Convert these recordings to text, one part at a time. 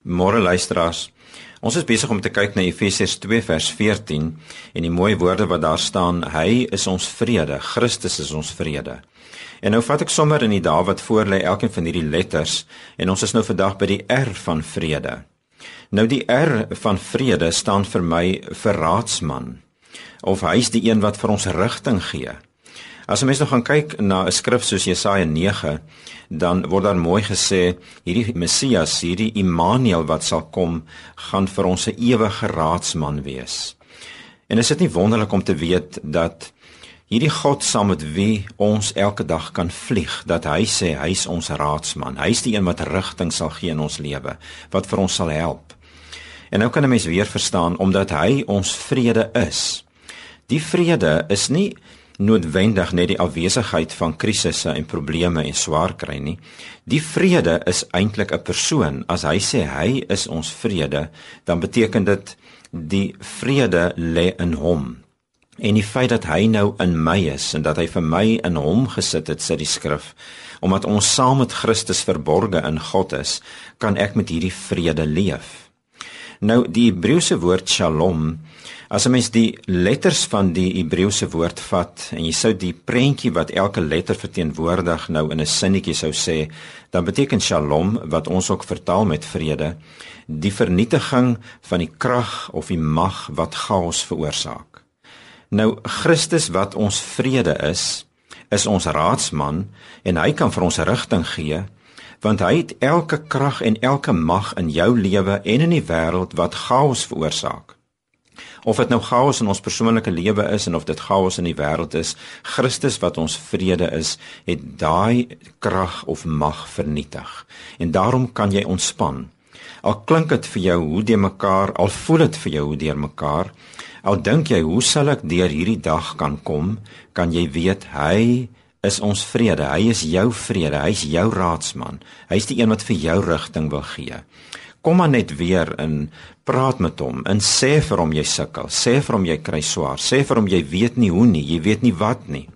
Môre luisteraars, ons is besig om te kyk na Efesiërs 2 vers 14 en die mooi woorde wat daar staan, hy is ons vrede, Christus is ons vrede. En nou vat ek sommer in die dae wat voor lê elkeen van hierdie letters en ons is nou vandag by die R van vrede. Nou die R van vrede staan vir my vir raadsman, of hy is die een wat vir ons rigting gee. As 'n mens nou gaan kyk na 'n skrif soos Jesaja 9, dan word daar mooi gesê, hierdie Messias, hierdie Immanuel wat sal kom, gaan vir ons 'n ewige raadsman wees. En is dit nie wonderlik om te weet dat hierdie God saam met wie ons elke dag kan vlieg, dat hy sê, hy is ons raadsman, hy is die een wat rigting sal gee in ons lewe, wat vir ons sal help. En nou kan 'n mens weer verstaan, omdat hy ons vrede is. Die vrede is nie noodwendig net die afwesigheid van krisisse en probleme en swaar kry nie. Die vrede is eintlik 'n persoon. As hy sê hy is ons vrede, dan beteken dit die vrede lê in hom. En die feit dat hy nou in my is en dat hy vir my in hom gesit het, sê die skrif, omdat ons saam met Christus verborge in God is, kan ek met hierdie vrede leef. Nou die Hebreëse woord shalom, as 'n mens die letters van die Hebreëse woord vat en jy sou die prentjie wat elke letter verteenwoordig nou in 'n sinnetjie sou sê, dan beteken shalom, wat ons ook vertaal met vrede, die vernietiging van die krag of die mag wat chaos veroorsaak. Nou Christus wat ons vrede is ons raadsman en hy kan vir ons rigting gee, want hy het elke krag en elke mag in jou lewe en in die wêreld wat chaos veroorsaak. Of dit nou chaos in ons persoonlike lewe is en of dit chaos in die wêreld is, Christus wat ons vrede is, het daai krag of mag vernietig. En daarom kan jy ontspan. Al klink dit vir jou hoe deurmekaar, al voel dit vir jou hoe deurmekaar, al dink jy hoe sal ek deur hierdie dag kan kom, kan jy weet hy is ons vrede, hy is jou vrede, hy is jou raadsman, hy is die een wat vir jou rigting wil gee. Kom maar net weer en praat met hom en sê vir hom jy sukkel, sê vir hom jy kry swaar, sê vir hom jy weet nie hoe nie, jy weet nie wat nie.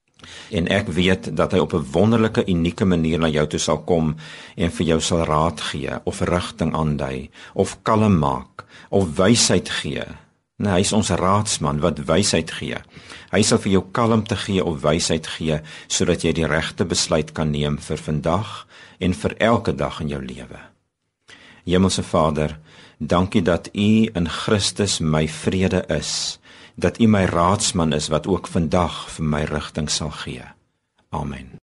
En ek weet dat hy op 'n wonderlike, unieke manier na jou toe sal kom en vir jou sal raad gee, of rigting aandui, of kalm maak, of wysheid gee. Nee, hy is ons raadsman wat wysheid gee. Hy sal vir jou kalmte gee of wysheid gee, sodat jy die regte besluit kan neem vir vandag en vir elke dag in jou lewe. Hemelse Vader, dankie dat U in Christus my vrede is, dat U my raadsman is wat ook vandag vir my rigting sal gee. Amen.